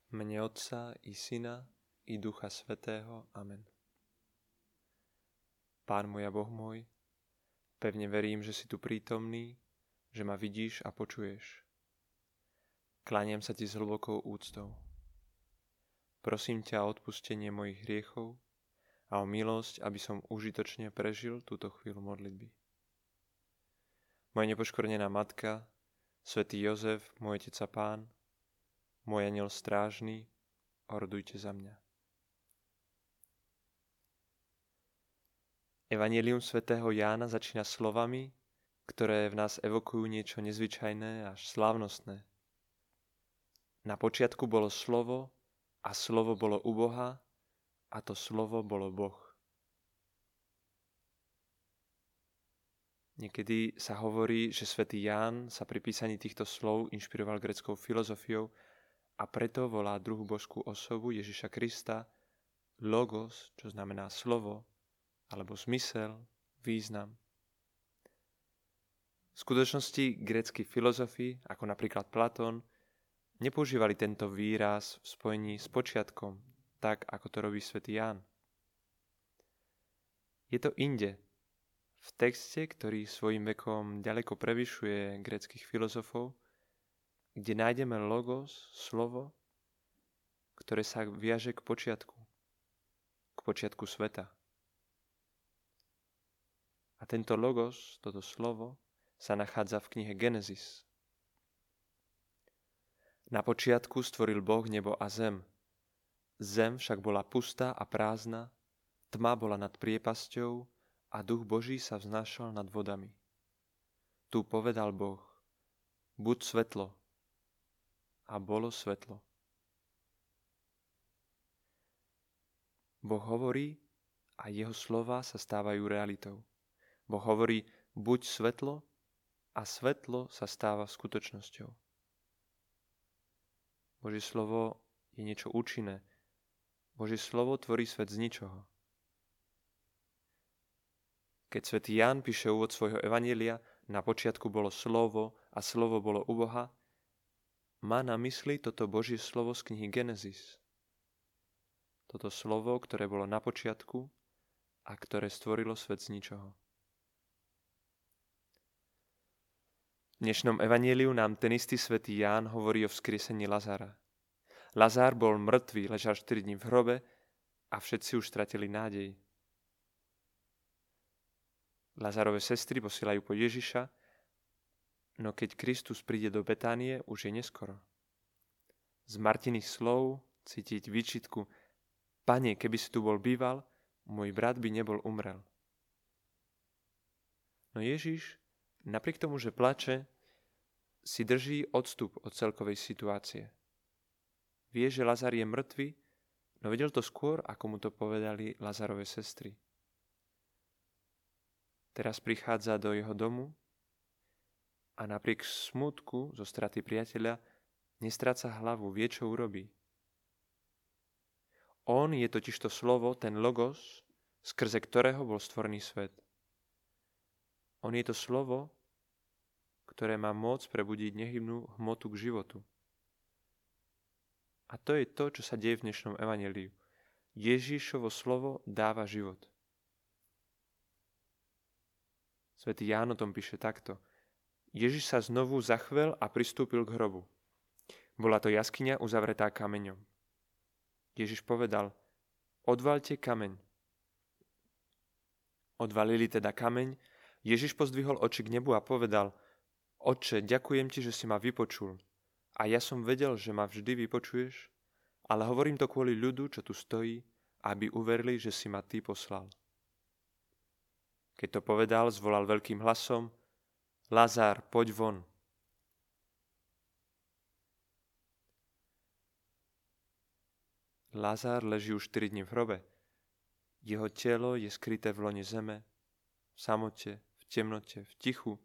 V mene Otca i Syna i Ducha Svätého. Amen. Pán môj a Boh môj, pevne verím, že si tu prítomný, že ma vidíš a počuješ. Kláňam sa ti s hlbokou úctou. Prosím ťa o odpustenie mojich hriechov a o milosť, aby som užitočne prežil túto chvíľu modlitby. Moja nepoškvrnená matka, svätý Jozef, môj otec a pán, môj anjel strážny, orodujte za mňa. Evanjelium svätého Jána začína slovami, ktoré v nás evokujú niečo nezvyčajné až slávnostné. Na počiatku bolo slovo a slovo bolo u Boha a to slovo bolo Boh. Niekedy sa hovorí, že svätý Ján sa pri písaní týchto slov inšpiroval gréckou filozofiou a preto volá druhú božskú osobu Ježiša Krista Logos, čo znamená slovo, alebo zmysel, význam. V skutočnosti grécki filozofi, ako napríklad Platón, nepoužívali tento výraz v spojení s počiatkom, tak ako to robí svätý Ján. Je to inde, v texte, ktorý svojím vekom ďaleko prevyšuje gréckych filozofov, kde nájdeme logos, slovo, ktoré sa viaže k počiatku sveta. A tento logos, toto slovo, sa nachádza v knihe Genesis. Na počiatku stvoril Boh nebo a zem. Zem však bola pustá a prázdna, tma bola nad priepasťou a duch Boží sa vznášal nad vodami. Tu povedal Boh, buď svetlo, a bolo svetlo. Boh hovorí a jeho slova sa stávajú realitou. Boh hovorí, buď svetlo, a svetlo sa stáva skutočnosťou. Božie slovo je niečo účinné. Božie slovo tvorí svet z ničoho. Keď svätý Ján píše úvod svojho evanjelia, na počiatku bolo slovo a slovo bolo u Boha, má na mysli toto Božie slovo z knihy Genesis. Toto slovo, ktoré bolo na počiatku a ktoré stvorilo svet z ničoho. V dnešnom evanjeliu nám ten istý svätý Ján hovorí o vzkriesení Lazara. Lazár bol mŕtvý, ležal 4 dní v hrobe a všetci už stratili nádej. Lazarove sestry posielajú po Ježiša, no keď Kristus príde do Betánie, už je neskoro. Z Martiných slov cítiť výčitku: Pane, keby si tu bol býval, môj brat by nebol umrel. No Ježiš, napriek tomu, že plače, si drží odstup od celkovej situácie. Vie, že Lazar je mŕtvy, no vedel to skôr, ako mu to povedali Lazarove sestry. Teraz prichádza do jeho domu a napriek smútku zo straty priateľa nestráca hlavu, vie, čo urobí. On je totižto slovo, ten logos, skrze ktorého bol stvorený svet. On je to slovo, ktoré má moc prebudiť nehybnú hmotu k životu. A to je to, čo sa deje v dnešnom evanjeliu. Ježišovo slovo dáva život. Svätý Ján o tom píše takto. Ježiš sa znovu zachvel a pristúpil k hrobu. Bola to jaskyňa uzavretá kameňom. Ježiš povedal, odvaľte kameň. Odvalili teda kameň, Ježiš pozdvihol oči k nebu a povedal, Otče, ďakujem ti, že si ma vypočul. A ja som vedel, že ma vždy vypočuješ, ale hovorím to kvôli ľudu, čo tu stojí, aby uverili, že si ma ty poslal. Keď to povedal, zvolal veľkým hlasom, Lazár, poď von. Lazár leží už 4 dní v hrobe. Jeho telo je skryté v lone zeme, v samote, v temnote, v tichu.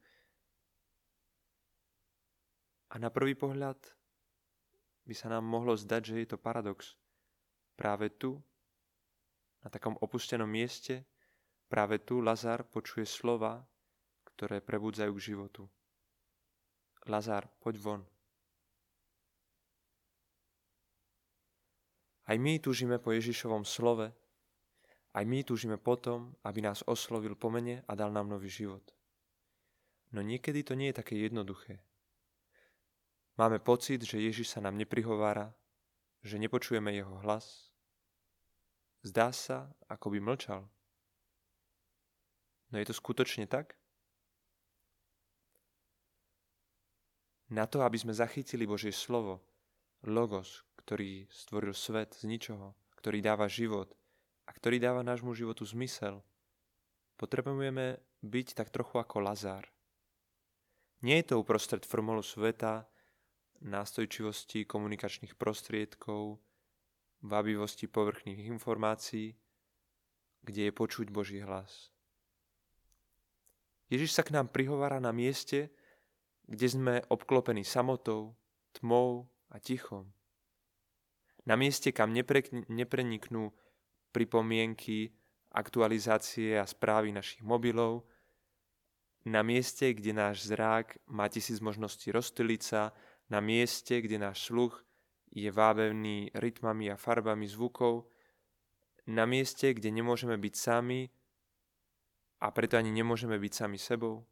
A na prvý pohľad by sa nám mohlo zdať, že je to paradox. Práve tu, na takom opustenom mieste, práve tu Lazár počuje slova, ktoré prebudzajú k životu. Lazár, poď von. Aj my túžime po Ježišovom slove, aj my túžime potom, aby nás oslovil po mene a dal nám nový život. No niekedy to nie je také jednoduché. Máme pocit, že Ježiš sa nám neprihovára, že nepočujeme jeho hlas. Zdá sa, ako by mlčal. No je to skutočne tak? Na to, aby sme zachytili Božie slovo, Logos, ktorý stvoril svet z ničoho, ktorý dáva život a ktorý dáva nášmu životu zmysel, potrebujeme byť tak trochu ako Lazár. Nie je to uprostred formolu sveta, nástojčivosti komunikačných prostriedkov, vábivosti povrchných informácií, kde je počuť Boží hlas. Ježiš sa k nám prihovára na mieste, kde sme obklopení samotou, tmou a tichom. Na mieste, kam nepreniknú pripomienky, aktualizácie a správy našich mobilov, na mieste, kde náš zrák má 1000 možností rozptýliť sa, na mieste, kde náš sluch je vábevný rytmami a farbami zvukov, na mieste, kde nemôžeme byť sami a preto ani nemôžeme byť sami sebou.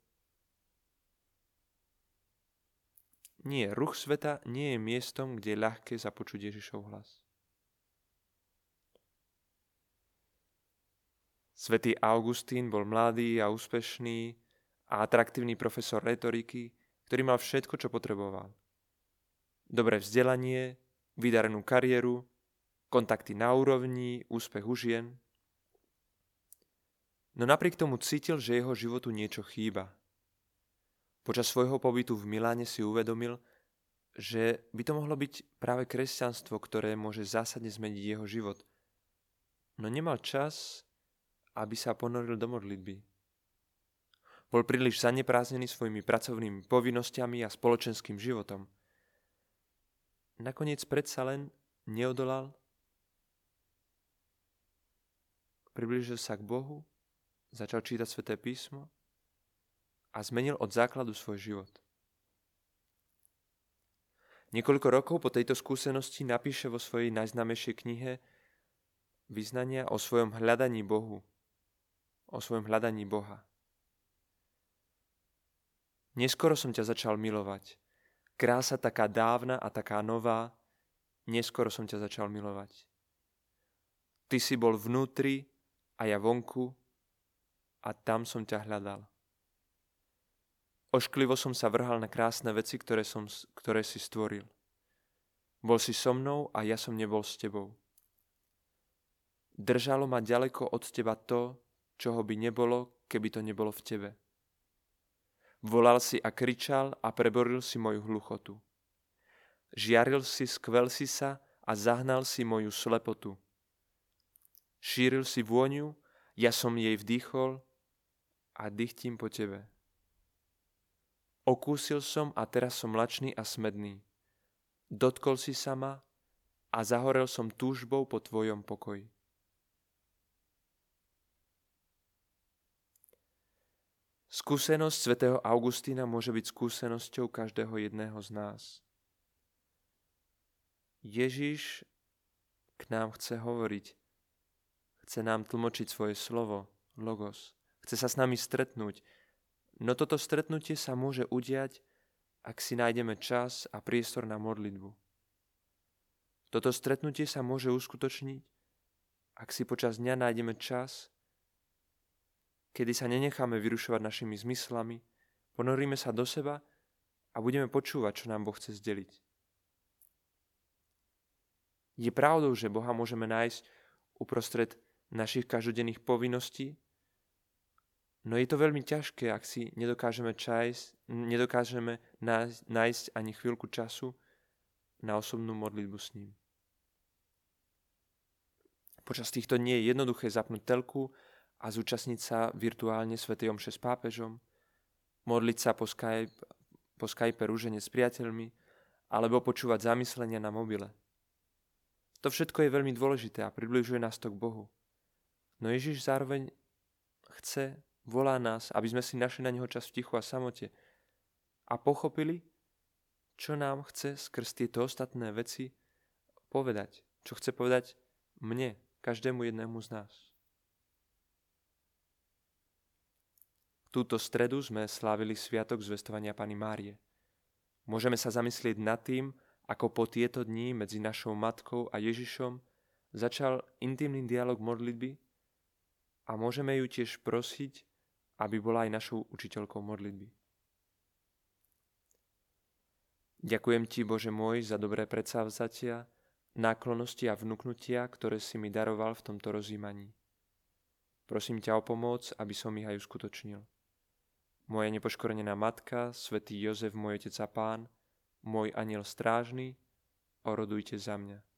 Nie, ruch sveta nie je miestom, kde je ľahké započuť Ježišov hlas. Svätý Augustín bol mladý a úspešný a atraktívny profesor retoriky, ktorý mal všetko, čo potreboval. Dobré vzdelanie, vydarenú kariéru, kontakty na úrovni, úspech u žien. No napriek tomu cítil, že jeho životu niečo chýba. Počas svojho pobytu v Miláne si uvedomil, že by to mohlo byť práve kresťanstvo, ktoré môže zásadne zmeniť jeho život. No nemal čas, aby sa ponoril do modlitby. Bol príliš zanepráznený svojimi pracovnými povinnosťami a spoločenským životom. Nakoniec predsa len neodolal, priblížil sa k Bohu, začal čítať Sväté písmo a zmenil od základu svoj život. Niekoľko rokov po tejto skúsenosti napíše vo svojej najznámejšej knihe vyznania o svojom hľadaní Bohu, o svojom hľadaní Boha. Neskoro som ťa začal milovať. Krása taká dávna a taká nová, neskoro som ťa začal milovať. Ty si bol vnútri a ja vonku a tam som ťa hľadal. Ošklivo som sa vrhal na krásne veci, ktoré si stvoril. Bol si so mnou a ja som nebol s tebou. Držalo ma ďaleko od teba to, čoho by nebolo, keby to nebolo v tebe. Volal si a kričal a preboril si moju hluchotu. Žiaril si, skvel si sa a zahnal si moju slepotu. Šíril si vôňu, ja som jej vdýchol a dychtím po tebe. Okúsil som a teraz som mlačný a smedný. Dotkol si sa ma a zahorel som túžbou po tvojom pokoji. Skúsenosť svätého Augustína môže byť skúsenosťou každého jedného z nás. Ježiš k nám chce hovoriť, chce nám tlmočiť svoje slovo, Logos, chce sa s nami stretnúť. No toto stretnutie sa môže udiať, ak si nájdeme čas a priestor na modlitbu. Toto stretnutie sa môže uskutočniť, ak si počas dňa nájdeme čas, kedy sa nenecháme vyrušovať našimi zmyslami, ponoríme sa do seba a budeme počúvať, čo nám Boh chce zdeliť. Je pravdou, že Boha môžeme nájsť uprostred našich každodenných povinností, no je to veľmi ťažké, ak si nedokážeme nájsť ani chvíľku času na osobnú modlitbu s ním. Počas týchto dní je jednoduché zapnúť telku a zúčastniť sa virtuálne svätej omše s pápežom, modliť sa po Skype rúžene s priateľmi alebo počúvať zamyslenia na mobile. To všetko je veľmi dôležité a približuje nás to k Bohu. No Ježiš zároveň volá nás, aby sme si našli na neho čas v tichu a samote a pochopili, čo nám chce skrz tieto ostatné veci povedať. Čo chce povedať mne, každému jednému z nás. Túto stredu sme slávili sviatok zvestovania Panny Márie. Môžeme sa zamyslieť nad tým, ako po tieto dni medzi našou matkou a Ježišom začal intimný dialog modlitby a môžeme ju tiež prosiť, aby bola aj našou učiteľkou modlitby. Ďakujem ti, Bože môj, za dobré predsavzatia, náklonnosti a vnuknutia, ktoré si mi daroval v tomto rozjímaní. Prosím ťa o pomoc, aby som ich aj uskutočnil. Moja nepoškorenená matka, svätý Jozef, môj otec a pán, môj anjel strážny, orodujte za mňa.